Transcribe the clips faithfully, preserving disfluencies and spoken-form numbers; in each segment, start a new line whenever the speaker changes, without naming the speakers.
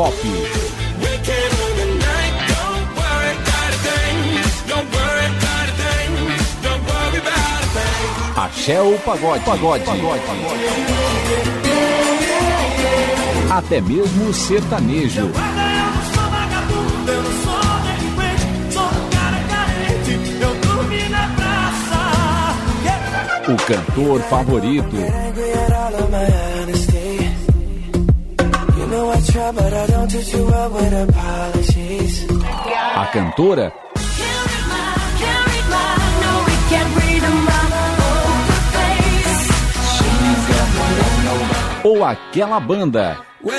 pop. Axé ou pagode, pagode, pagode, até mesmo o sertanejo. O cantor favorito. A cantora. Ou aquela banda.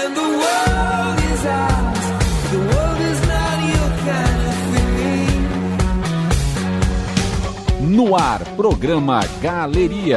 No ar, programa Galeria.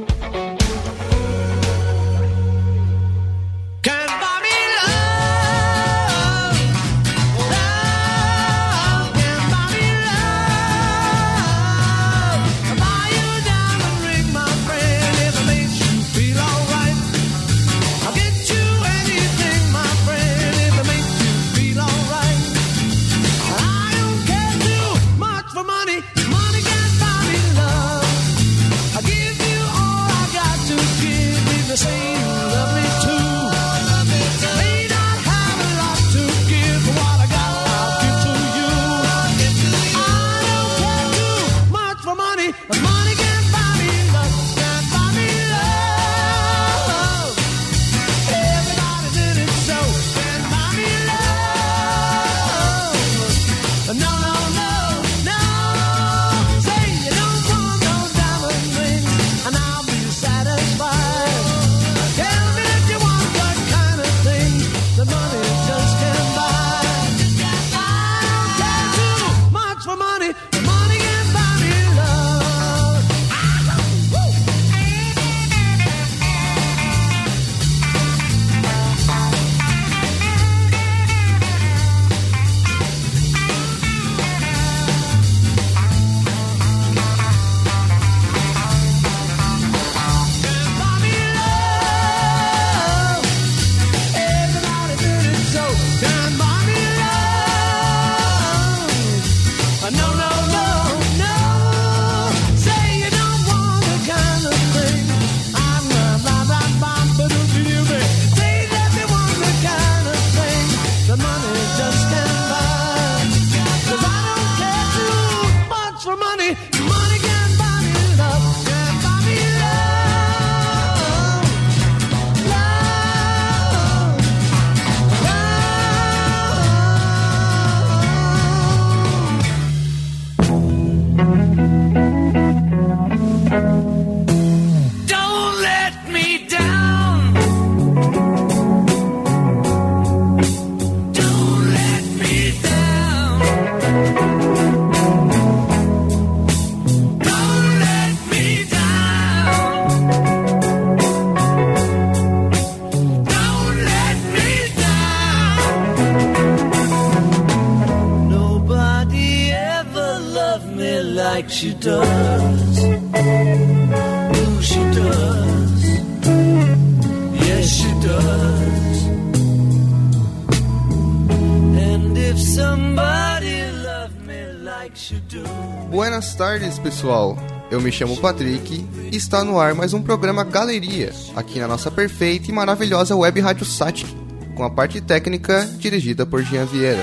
She does, oh she does, yes she does. And if somebody loved me like she do.
Buenas tardes, pessoal. Eu me chamo Patrick e está no ar mais um programa Galeria, aqui na nossa perfeita e maravilhosa web rádio Satic, com a parte técnica dirigida por Jean Vieira.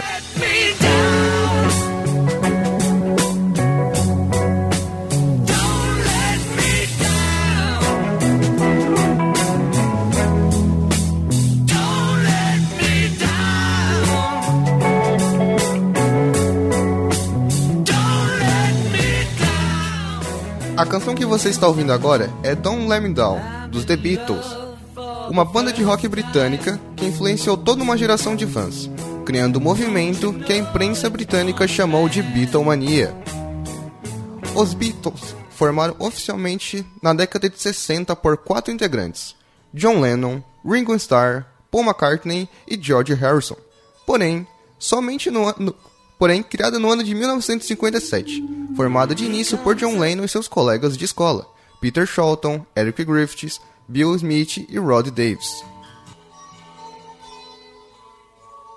A canção que você está ouvindo agora é Don't Let Me Down, dos The Beatles, uma banda de rock britânica que influenciou toda uma geração de fãs, criando um movimento que a imprensa britânica chamou de Beatlemania. Os Beatles formaram oficialmente na década de sessenta por quatro integrantes, John Lennon, Ringo Starr, Paul McCartney e George Harrison, porém, somente no ano... porém criada no ano de mil novecentos e cinquenta e sete, formada de início por John Lennon e seus colegas de escola, Peter Shorten, Eric Griffiths, Bill Smith e Rod Davis.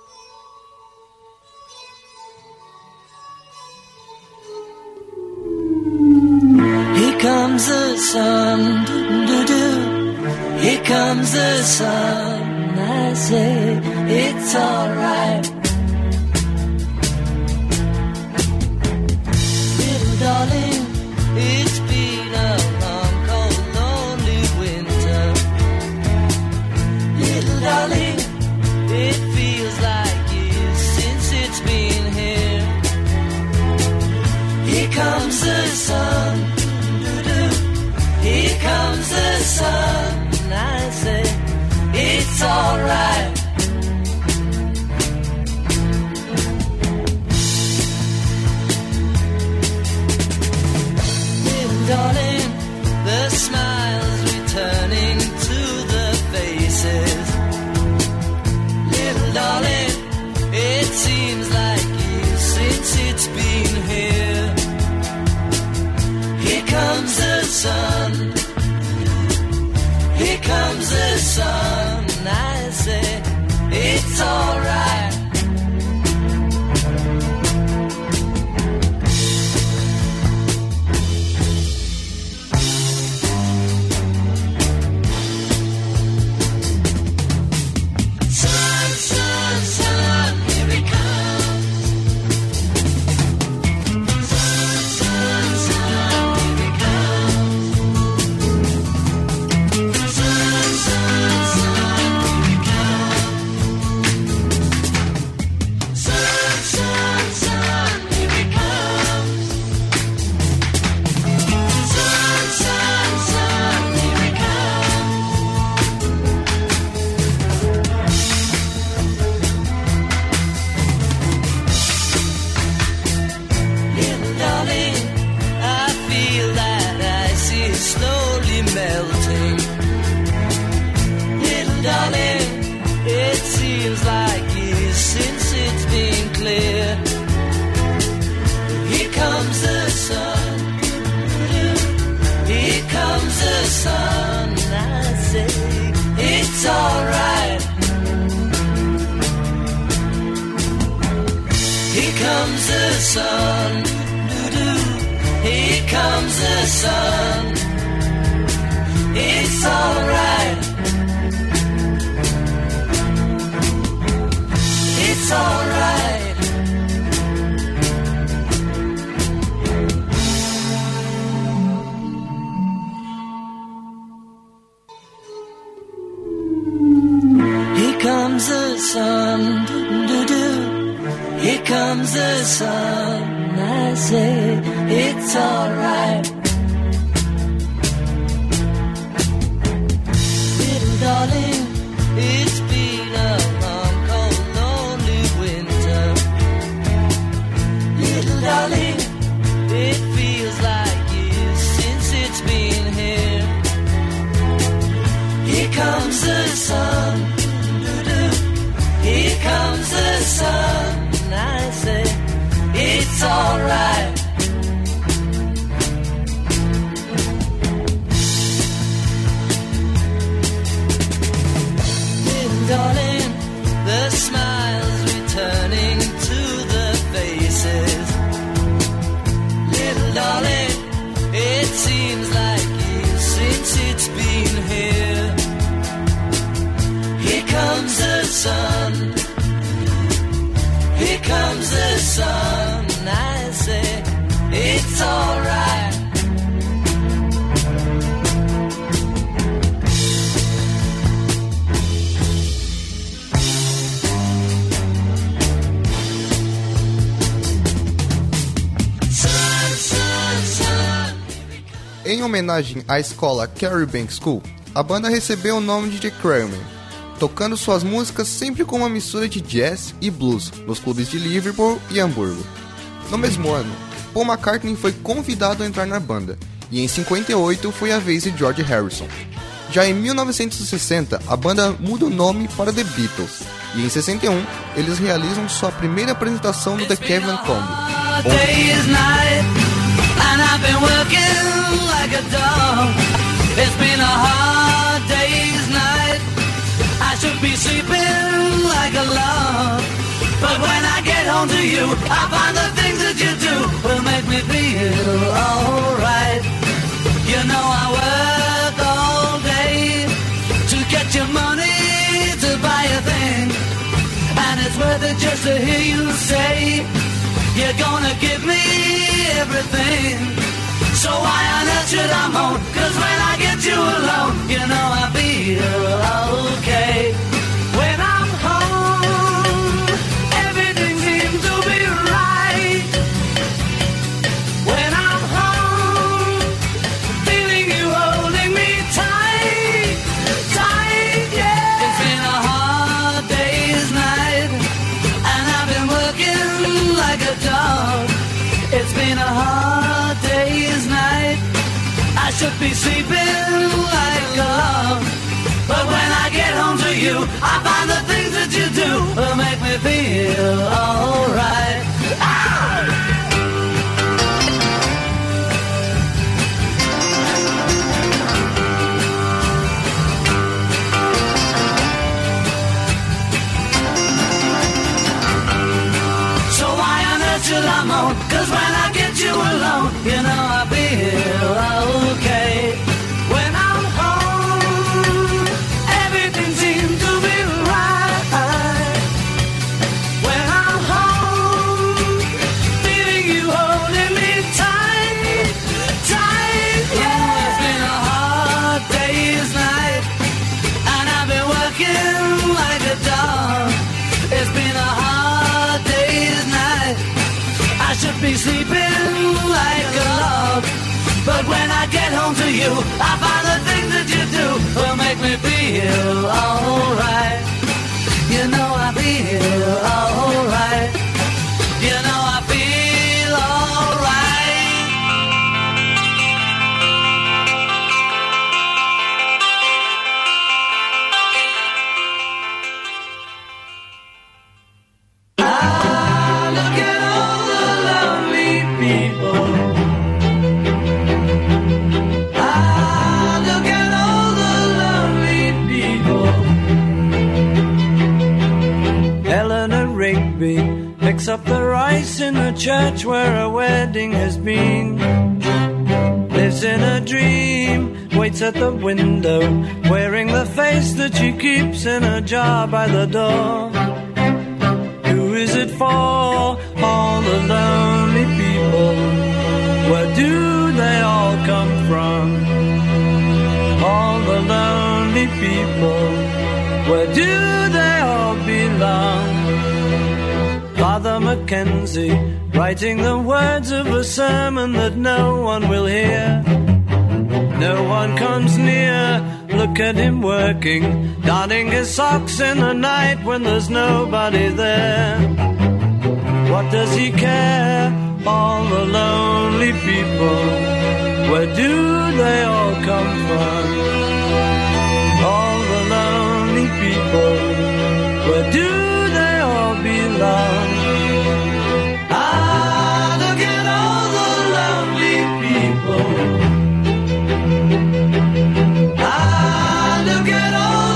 Here comes the sun, do-do-do. Here comes the sun. I say it's alright. Little darling, it's been a long, cold, lonely winter. Little darling, it feels like years since it's been here. Here comes the sun, doo-doo. Here comes the sun, and I say it's alright. Darling, the smiles returning to the faces. Little darling, it seems like years since it's been here. Here comes the sun. Here comes the sun. And I say, it's alright.
Em homenagem à escola Carrie Bank School, a banda recebeu o nome de The Crackmen, tocando suas músicas sempre com uma mistura de jazz e blues nos clubes de Liverpool e Hamburgo. No mesmo ano, Paul McCartney foi convidado a entrar na banda, e em cinquenta e oito foi a vez de George Harrison. Já em mil novecentos e sessenta, a banda muda o nome para The Beatles, e em sessenta e um, eles realizam sua primeira apresentação no The Cleveland Combi.
And I've been working like a dog. It's been a hard day's night. I should be sleeping like a log. But when I get home to you, I find the things that you do will make me feel alright. to hear you say you're gonna give me everything. So why on earth should I moan? Cause when I get you alone, you know I feel okay. When I'm home, everything seems to be right. When I'm home, feeling you holding me tight, tight, yeah. It's been a hard day's night, and I've been working like a dog. It's been a hard day's night, I should be sleeping like a log. But when I get home to you, I find the things that you do will make me feel alright. Ah! So why on earth should I moan? Cause when I get you alone, you know I feel okay. When I'm home, everything seems to be right. When I'm home, feeling you holding me tight, tight, yeah. It's been a hard day's night, and I've been working like a dog. It's been a hard day's night, I should be sleeping like a log. But when I get home to you, I find the things that you do will make me feel alright. You know I feel alright. You know I feel alright. Ah, look at all the lonely people. Ah, look at all the lonely people. Eleanor Rigby picks up the rice in the church where a wedding has been. Lives in a dream, waits at the window, wearing the face that she keeps in a jar by the door. Who is it for? All the lonely people. Where do they all come from? All the lonely people. Where do they all belong? Father Mackenzie, writing the words of a sermon that no one will hear. No one comes near, look at him working, darning his socks in the night when there's nobody there. What does he care? All the lonely people, where do they all come from? All the lonely people, where do they all belong? Ah, look at all the lonely people. Ah, look at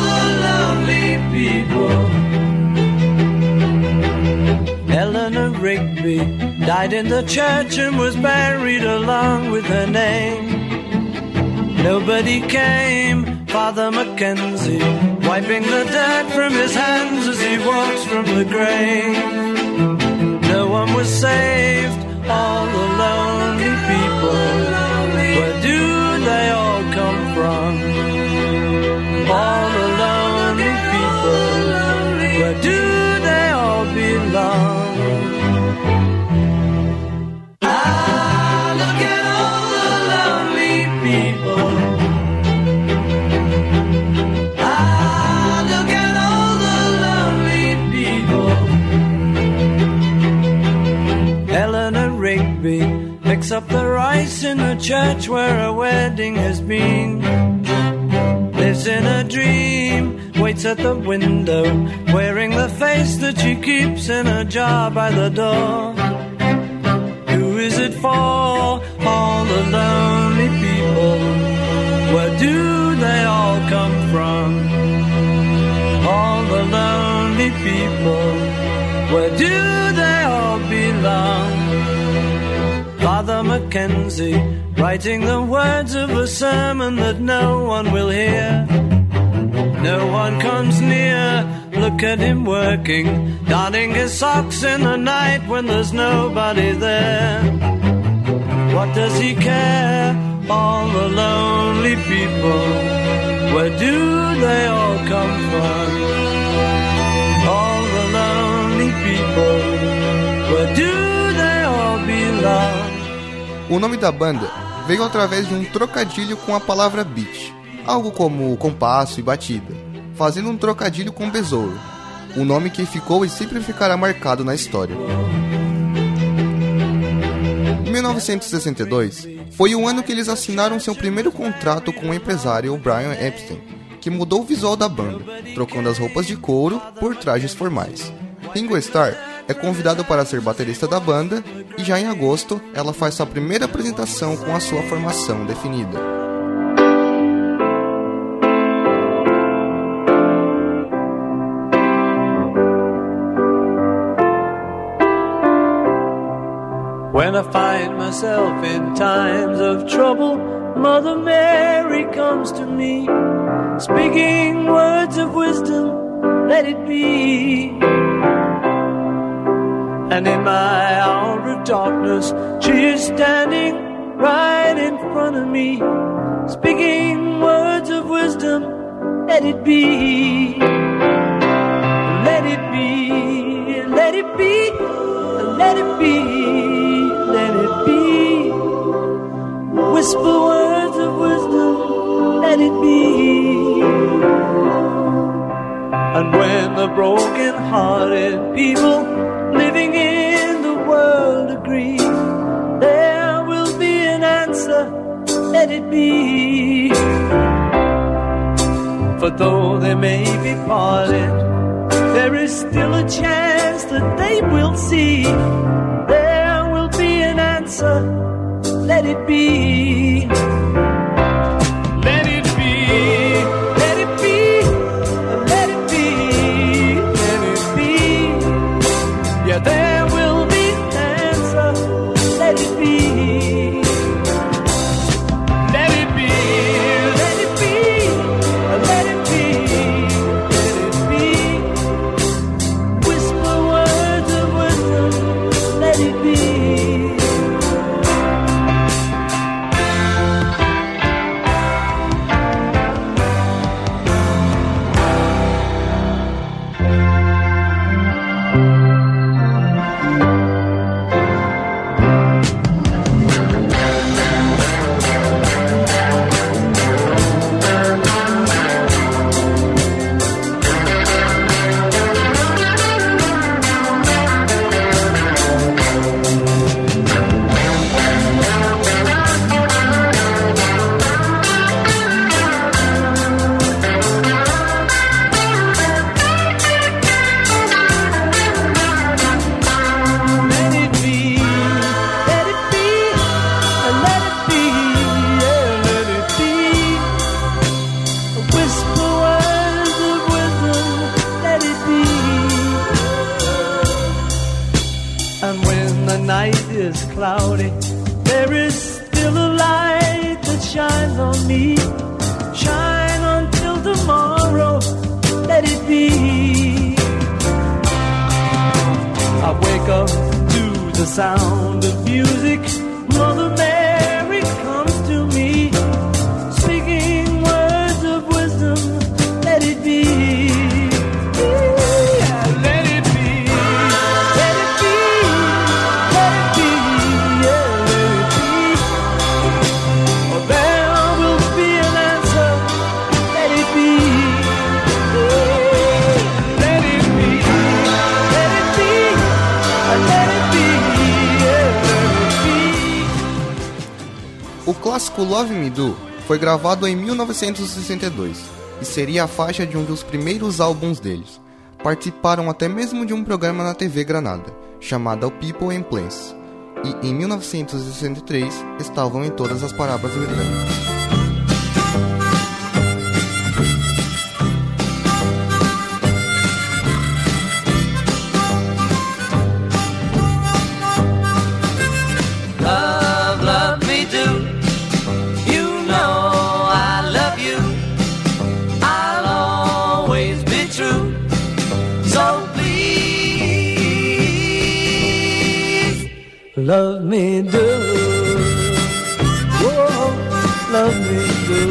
all the lonely people. Eleanor Rigby died in the church and was buried along with her name. Nobody came, Father Mackenzie, wiping the dirt from his hands as he walks from the grave. No one was saved, all the lonely people. Where do they all come from? All the lonely people. Where do they all belong? Ah, look at all the lonely people. Ah, look at all the lonely people. Eleanor Rigby picks up the rice in the church where a wedding has been. Lives in a dream, waits at the window, wearing the face that she keeps in a jar by the door. Who is it for? All the lonely people. Where do they all come from? All the lonely people. Where do they all belong? Father Mackenzie, writing the words of a sermon that no one will hear. No one comes near, look at him working, darning his socks in the night when there's nobody there. What does he care? All the lonely people, where do they all come from? All the lonely people, where do they all belong?
O nome da banda veio através de um trocadilho com a palavra beat, algo como compasso e batida, fazendo um trocadilho com besouro, um nome que ficou e sempre ficará marcado na história. mil novecentos e sessenta e dois foi o ano que eles assinaram seu primeiro contrato com o empresário Brian Epstein, que mudou o visual da banda, trocando as roupas de couro por trajes formais. Ringo Starr é convidado para ser baterista da banda e já em agosto ela faz sua primeira apresentação com a sua formação definida.
When I find myself in times of trouble, Mother Mary comes to me, speaking words of wisdom, let it be. And in my hour of darkness, she is standing right in front of me, speaking words of wisdom, let it be. Let it be, let it be, let it be, let it be. Whisper words of wisdom, let it be. And when the broken-hearted people living in the world agree, there will be an answer, let it be. For though they may be parted, there is still a chance that they will see. There will be an answer, let it be. Let it be, let it be, let it be, let it be. Yeah, there will be an answer, let it be. Let it be, let it be, let it be, let it be. Whisper words of wisdom, let it be. Cloudy, there is still a light that shines on me. Shine until tomorrow, let it be. I wake up to the sound of music. Mother Mary comes to me, speaking words of wisdom, let it be.
O clássico Love Me Do foi gravado em mil novecentos e sessenta e dois e seria a faixa de um dos primeiros álbuns deles. Participaram até mesmo de um programa na T V Granada, chamado People and Place, e em mil novecentos e sessenta e três estavam em todas as paradas britânicas.
Love me do, oh, love me do.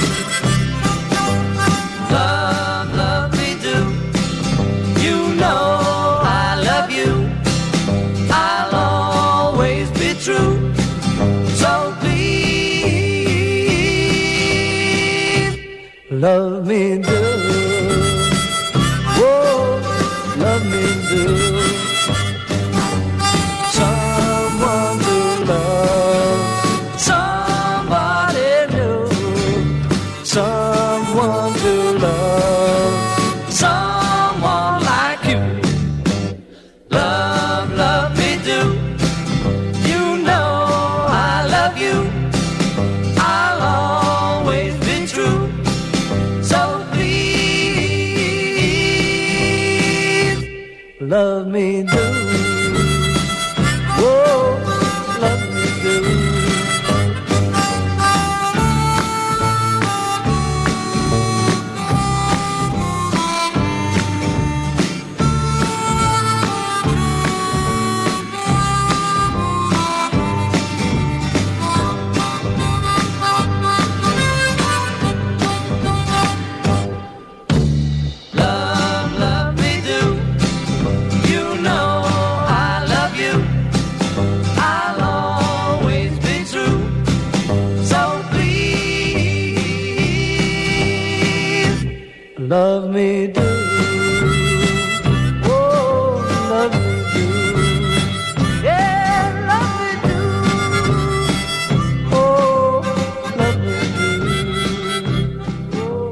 Love, love me do. You know I love you. I'll always be true. So please, love me do. Oh, love me do. Love me do, oh, love me do. Love me do, oh, love me do, yeah, love me do, oh, love me do, oh.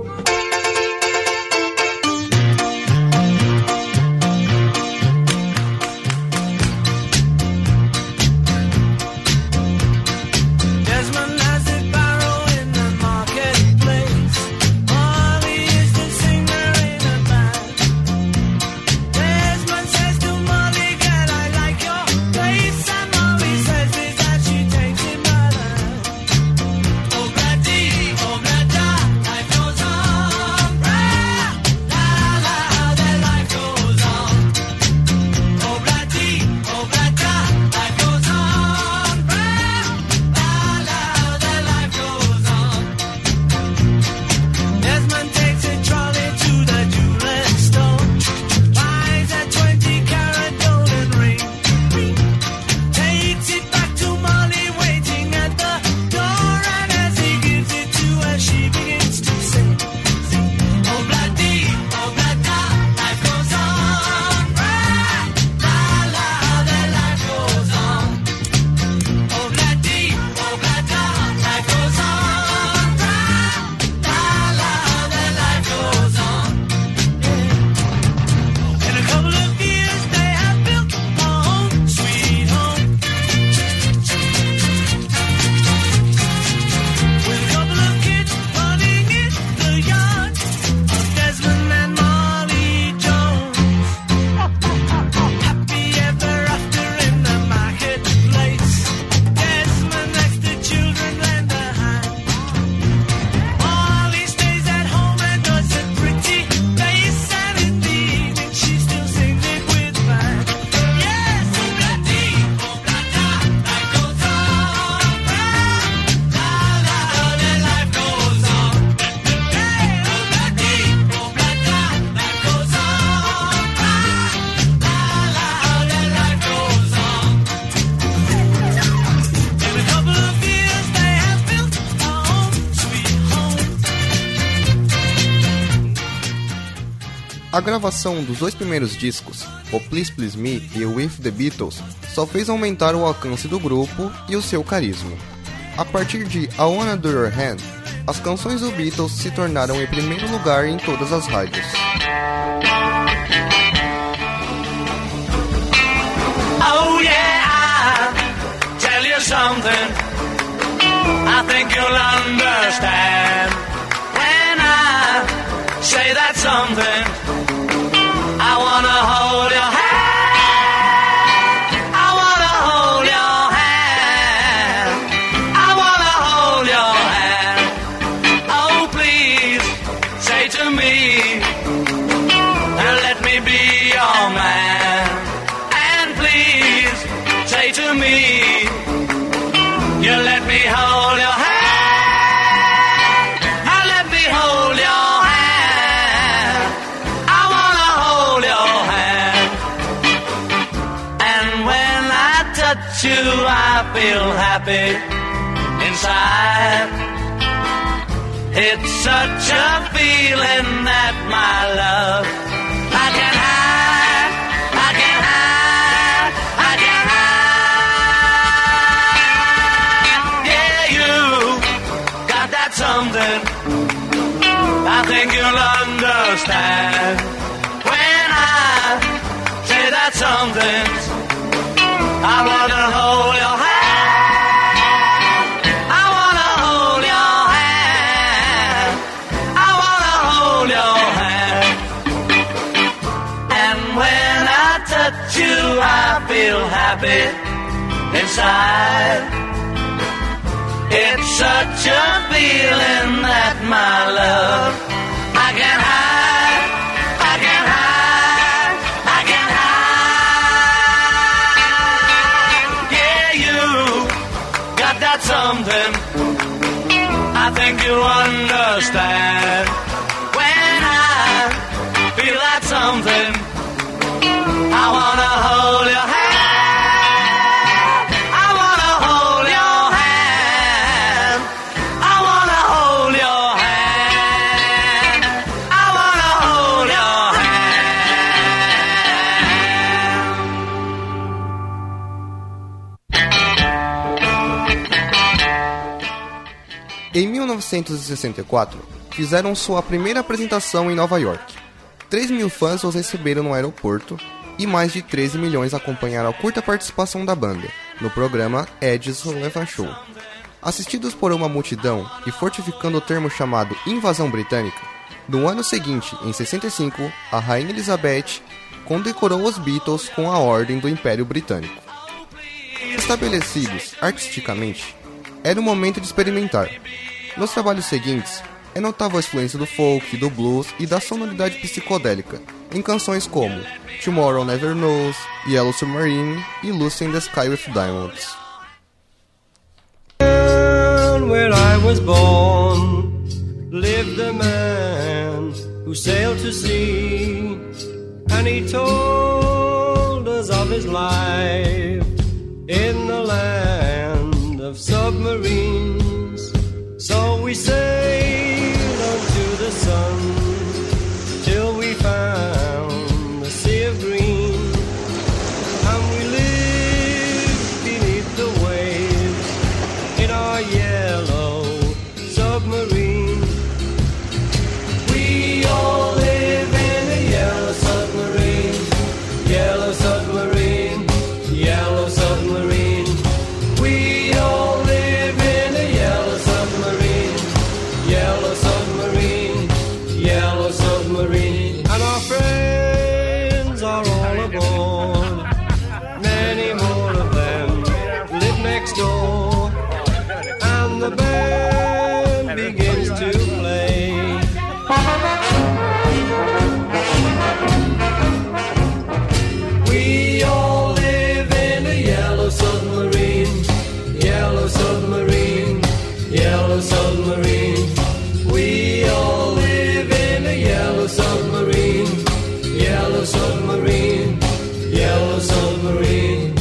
Desmond has a barrow in the marketplace. Molly is the singer in a band. Desmond says to Molly, girl, I like your place. And Molly says is that she takes him by the hand. Oh, Braddy, oh, Bradda, life goes on. Brad, la, la, their life goes on. Oh, Braddy, oh, Bradda, life goes on. Brad, la, la, their life goes on. Desmond takes a trolley to the jewelry store, buys a twenty carat golden ring, takes it back to Molly waiting at the door, and as he gives it to her, she begins to sing. Oh, Bladdy, oh, Bladda, life goes on. Brad, la, la, their life goes on. Oh, Bladdy, oh, Bladda, life goes on. Brad, la, la, their life goes on. In a couple of years they have built a home, sweet home, with a couple of kids running in the yard of Desmond and Molly Jones. Happy ever after in the marketplace. Desmond lets the children lend a hand. Molly stays at home and does a pretty face, and in the evening she still sings it with band. Yes, oh, Bladdy, oh, Bladda, life goes on. Brad, la, la, their life goes on. Hey, oh, Bladdy, oh, Bladda, life goes on. Brad, la, la, their life goes on. In a couple of years they have built a home, sweet home.
A gravação dos dois primeiros discos, o Please Please Me e o With the Beatles, só fez aumentar o alcance do grupo e o seu carisma. A partir de I Wanna Do Your Hand, as canções do Beatles se tornaram em primeiro lugar em todas as rádios.
Oh yeah, I'll tell you something I think you'll understand when I say that something. I wanna hold your hand. I wanna hold your hand. I wanna hold your hand. Oh, please say to me, let me be your man. And please say to me, I feel happy inside. It's such a feeling that my love I can hide, I can hide, I can hide. Yeah, you got that something I think you'll understand when I say that something. I wanna hold your hand, I wanna hold your hand, I wanna hold your hand. And when I touch you, I feel happy inside. It's such a feeling that my love I can hide, I can hide, I can hide. Yeah, you got that something I think you'll understand when I feel that something. I wanna hold your hand, I wanna hold your hand, I wanna hold your hand, I wanna hold your
hand. Em mil novecentos e sessenta e quatro, fizeram sua primeira apresentação em Nova York. três mil fãs os receberam no aeroporto e mais de treze milhões acompanharam a curta participação da banda no programa Ed's Relevant Show. Assistidos por uma multidão e fortificando o termo chamado Invasão Britânica, no ano seguinte, em sessenta e cinco, a Rainha Elizabeth condecorou os Beatles com a Ordem do Império Britânico. Estabelecidos artisticamente, era o momento de experimentar. Nos trabalhos seguintes, é notável a influência do folk, do blues e da sonoridade psicodélica em canções como Tomorrow Never Knows, Yellow Submarine e Lucy in the Sky with Diamonds.
Where I was born, lived a man who sailed to sea, and he told us of his life in the land of submarines. So we sailed unto the sun till we found the sea of green, and we lived beneath the waves in our yellow submarine. We all live in a yellow submarine, yellow submarine, yellow submarine. We all live in a yellow submarine, yellow submarine, yellow submarine. And our friends are all aboard, many more of them live next door, and the band begins to play. We all live in a yellow submarine, yellow submarine, yellow submarine. We all live in a yellow submarine, yellow submarine, yellow submarine.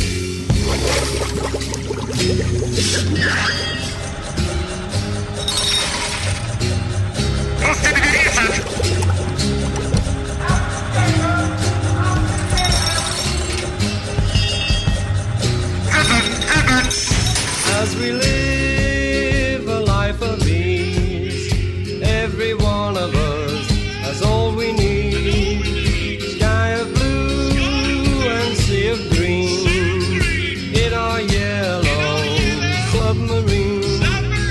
As we live a life of ease, every one of us has all we need. Sky of blue and sea of green in our yellow submarine.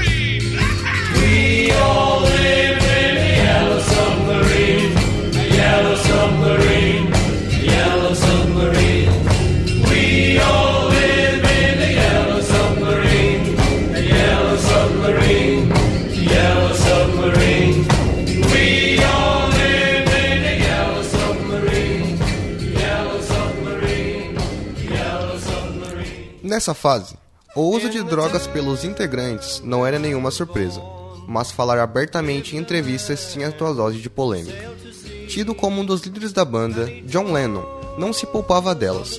We all live in a yellow submarine, yellow submarine, yellow submarine. We all live in a yellow submarine, a yellow submarine, yellow submarine. We all live in a yellow submarine, yellow submarine, yellow submarine.
Nessa fase, o uso de drogas pelos integrantes não era nenhuma surpresa, mas falar abertamente em entrevistas tinha sua dose de polêmica. Tido como um dos líderes da banda, John Lennon não se poupava delas,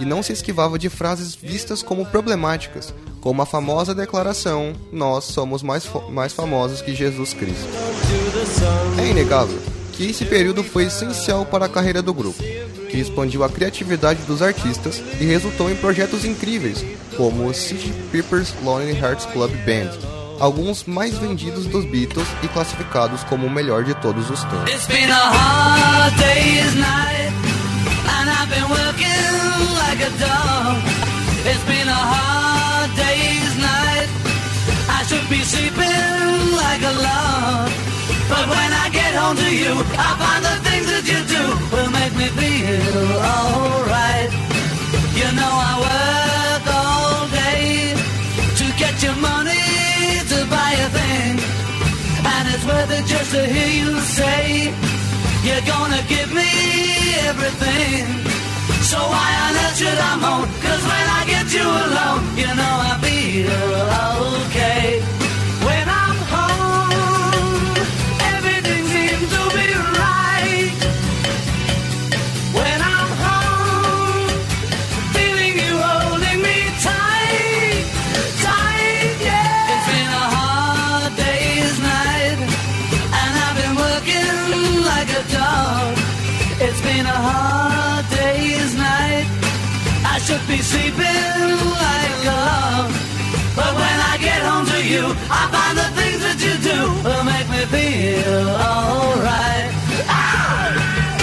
e não se esquivava de frases vistas como problemáticas, como a famosa declaração: nós somos mais, mais famosos que Jesus Cristo. É inegável que esse período foi essencial para a carreira do grupo, que expandiu a criatividade dos artistas e resultou em projetos incríveis, como o sgt Pepper's Lonely Hearts Club Band, alguns mais vendidos dos Beatles e classificados como o melhor de todos os tempos.
It's been a hard day's night, and I've been working like a dog. It's been a hard day's night, I should be sleeping like a log. But when I get home to you, I find the things that you do will make me feel alright. You know I work all day to get your money to buy a thing, and it's worth it just to hear you say you're gonna give me everything. So why on earth should I moan? Cause when I get you alone, you know I feel okay. When I'm home, everything seems to be right. When I'm home, feeling you holding me tight, tight, yeah. It's been a hard day's night, and I've been working like a dog. It's been a hard day's night, I should be sleeping like a log. But when I get home to you, I find the things that you do will make me feel alright. Ah!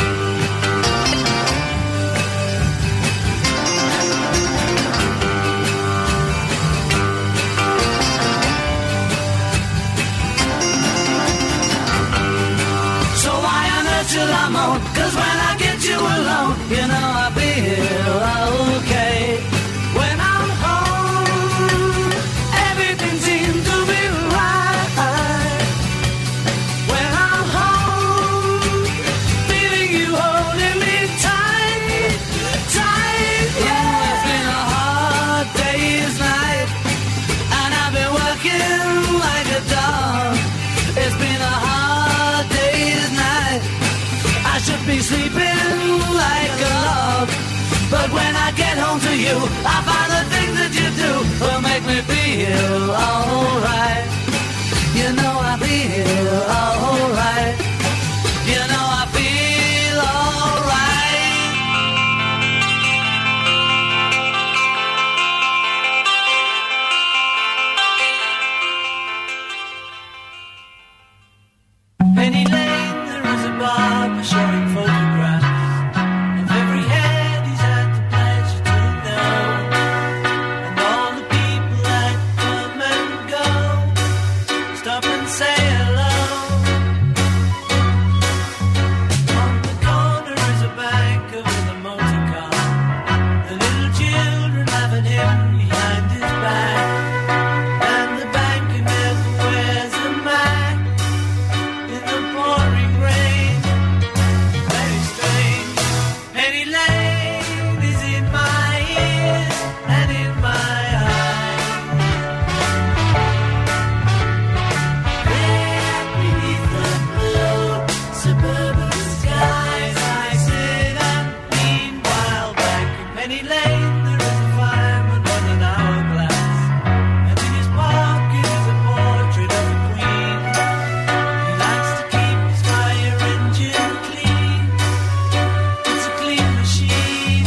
So why on earth should I moan? Cause when I get you alone, you know I feel okay. When I'm home, everything seems to be right. When I'm home, feeling you holding me tight, tight, yeah. It's been a hard day's night, and I've been working like a dog. It's been a hard day's night, I should be sleeping like a log. But when I get home to you, I find the things that you do will make me feel alright. You know I feel alright. You know I feel alright. Penny Lane, there is a barber showing photographs of every head he's had the pleasure to know, and all the people that come and go stop and say hello. On the corner is a banker with a motor car, the little children laughing him behind his back, and the banker never wears a mask in the pouring rain. Very strange. Penny Lane is in my ears and in my eyes. There beneath the blue suburban skies, I sit and meanwhile back in Penny Lane there is a fireman with an hourglass, and in his pocket is a portrait of the Queen. He likes to keep his fire engine clean. It's a clean machine.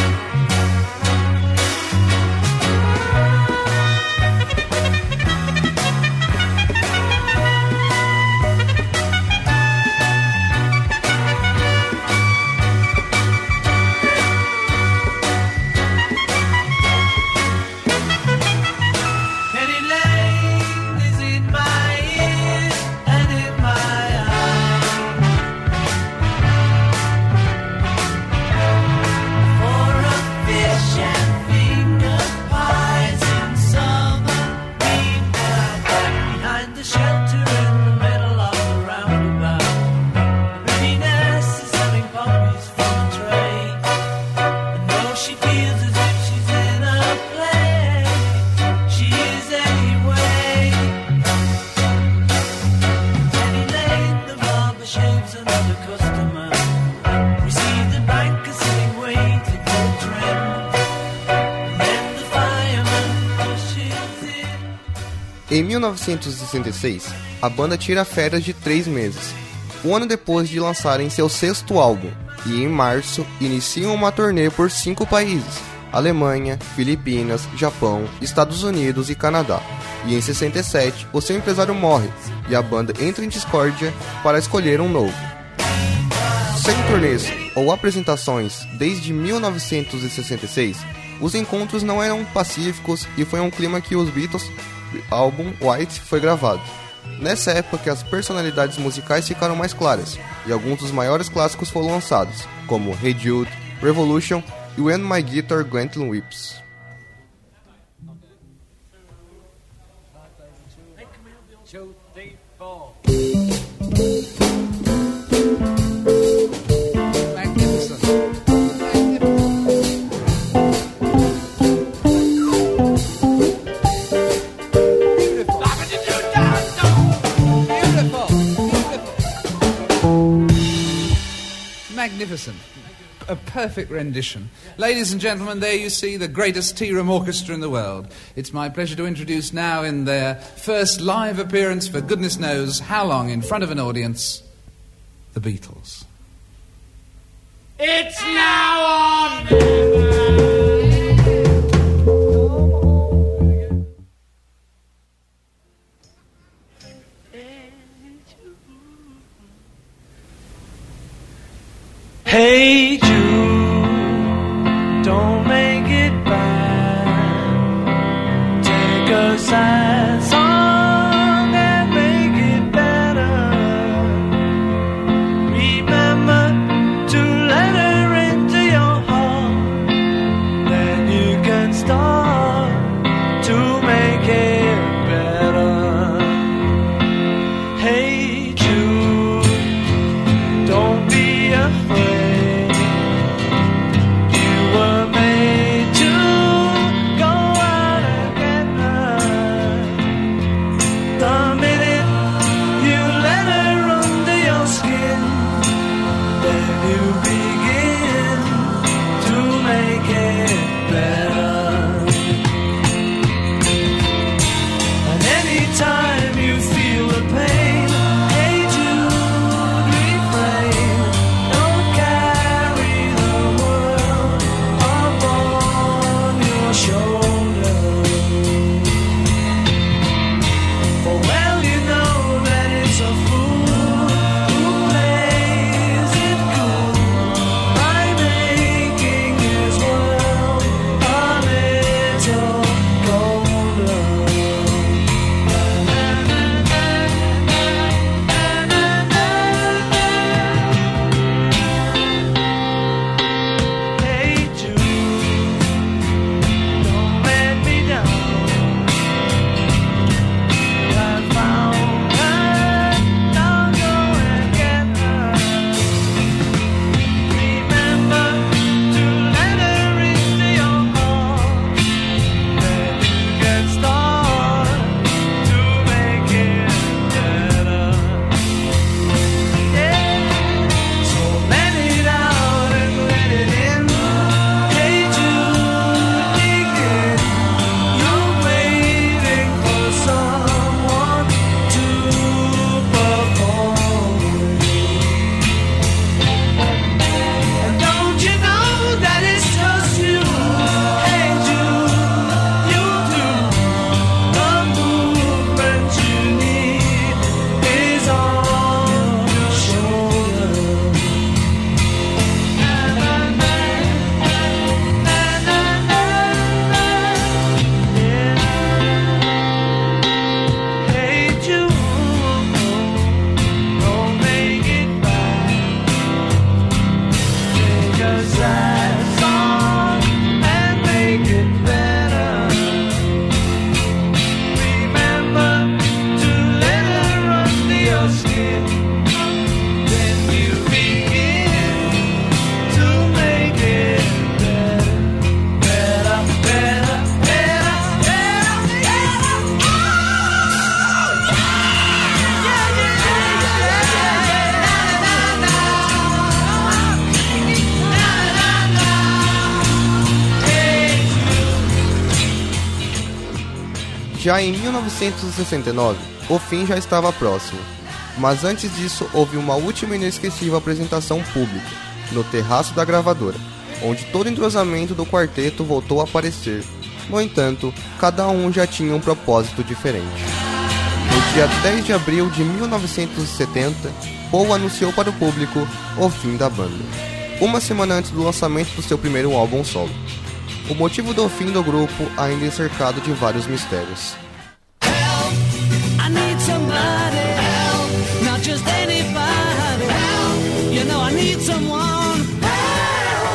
Penny Lane is in my ears and in my eyes. For a fish and finger pies in summer, meanwhile back behind the shelter in the middle of the roundabout, the pretty nurse is serving puppies from a tray, and though she feels as if she's in a play, she is anyway. Penny Lane, the barber shaves another customer. We see the banker sitting waiting for a trim.
Em mil novecentos e sessenta e seis, a banda tira férias de três meses, um ano depois de lançarem seu sexto álbum, e em março iniciam uma turnê por cinco países: Alemanha, Filipinas, Japão, Estados Unidos e Canadá. E em sessenta e sete, o seu empresário morre, e a banda entra em discórdia para escolher um novo. Sem turnês ou apresentações desde mil novecentos e sessenta e seis, os encontros não eram pacíficos e foi um clima que os Beatles, álbum White, foi gravado. Nessa época, as personalidades musicais ficaram mais claras, e alguns dos maiores clássicos foram lançados, como Hey Jude, Revolution e When My Guitar Gently Weeps.
Magnificent. A perfect rendition. Ladies and gentlemen, there you see the greatest tea room orchestra in the world. It's my pleasure to introduce now, in their first live appearance for goodness knows how long in front of an audience, the Beatles.
It's now or never. Hey Jude, don't make it bad. Take a sad song and make it better. Remember to let her into your heart. Then you can start to make it better. Hey Jude, don't be afraid.
Já em mil novecentos e sessenta e nove, o fim já estava próximo, mas antes disso houve uma última e inesquecível apresentação pública, no terraço da gravadora, onde todo o entrosamento do quarteto voltou a aparecer. No entanto, cada um já tinha um propósito diferente. No dia dez de abril de mil novecentos e setenta, Paul anunciou para o público o fim da banda, uma semana antes do lançamento do seu primeiro álbum solo. O motivo do fim do grupo ainda é cercado de vários mistérios.
Help, I need somebody help, not just anybody help, you know I need someone help.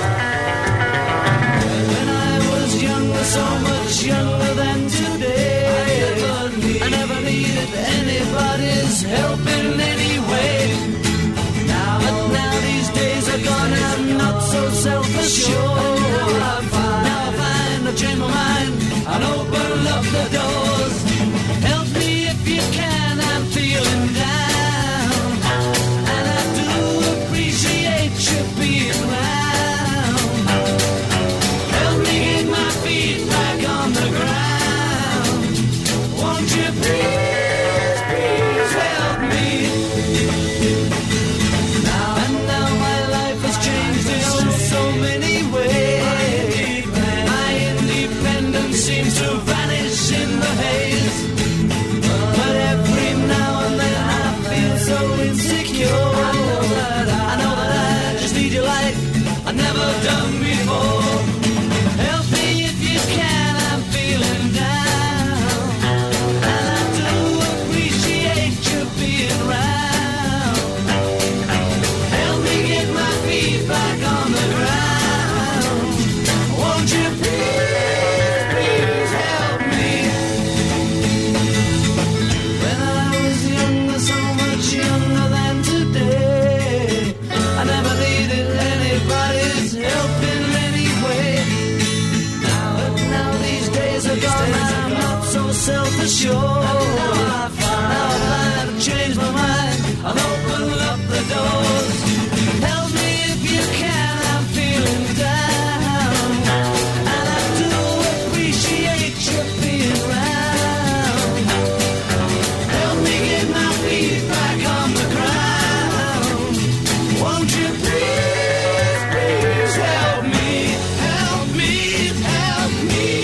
When I was younger, so much younger than today, I never, need, I never needed anybody's help in any way. Now, but now these days are gone, I'm not so self-assured. I'll change my mind and open up the doors. Help me if you can, I'm feeling down, and I do appreciate you being around. Help me get my feet back on the ground. Won't you please, please help me? Now and now my life has changed in oh so many ways. Seems to vanish in the haze, but every now and then I feel so insecure. I know that I, I know that I just need you like I've never done before. Help me if you can, I'm feeling down, and I do appreciate you being around. Help me get my feet back on the ground. Won't you please? Self-assured. Now I find, now I find I've changed my mind. I'll open up the doors. Help me if you can, I'm feeling down, and I do appreciate you being around. Help me get my feet back on the ground. Won't you please, please help me, help me, help me.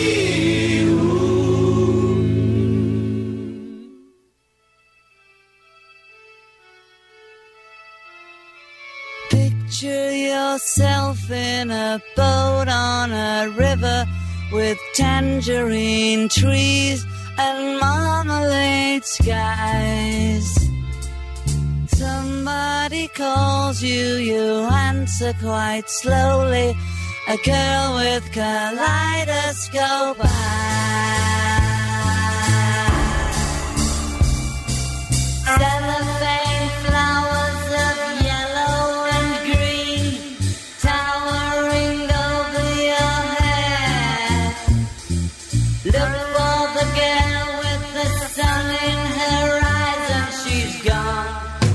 Picture yourself in a boat on a river with tangerine trees and marmalade skies. Somebody calls you, you answer quite slowly. A girl with kaleidoscope eyes. Cellophane flowers of yellow and green towering over your head. Look for the girl with the sun in her eyes and she's gone.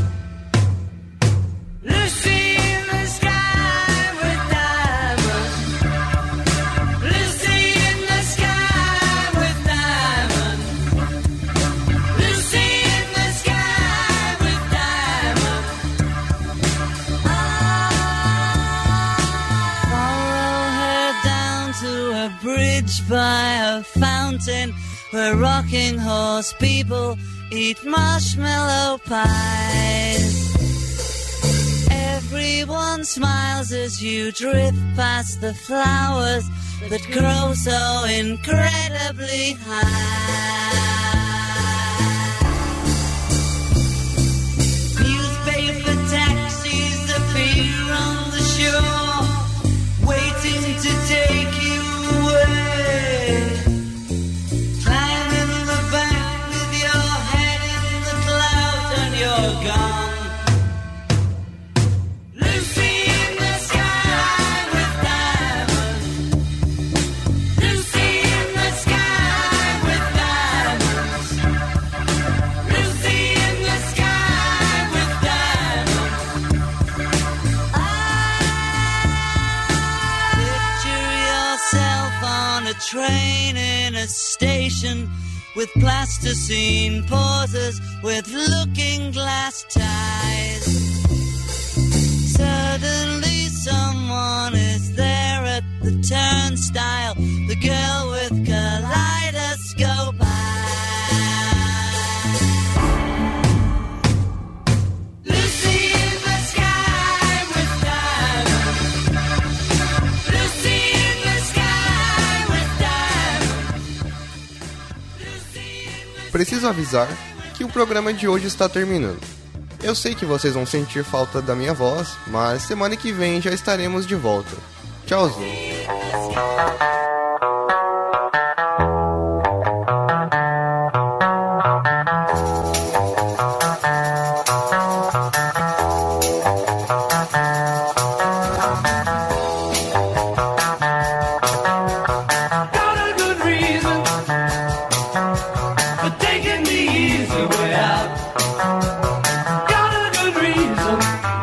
Lucy in the sky with diamonds. Lucy in the sky with diamonds. Lucy in the sky with diamonds. Follow her down to a bridge by a fountain where rocking horse people eat marshmallow pies. Everyone smiles as you drift past the flowers that grow so incredibly high. Newspaper taxis appear on the shore, waiting to take you away. Climb in the bank with your head in the clouds and you're gone. Lucy in the sky with diamonds. Lucy in the sky with diamonds. Lucy in the sky with diamonds. Picture yourself on a train in a station with plasticine pauses, with looking glass ties. Suddenly someone is there at the turnstile, the girl with kaleidoscope eyes. Lucy in the sky with diamonds. Lucy in the sky with diamonds.
Preciso avisar que o programa de hoje está terminando. Eu sei que vocês vão sentir falta da minha voz, mas semana que vem já estaremos de volta. Tchauzinho.
Got a good reason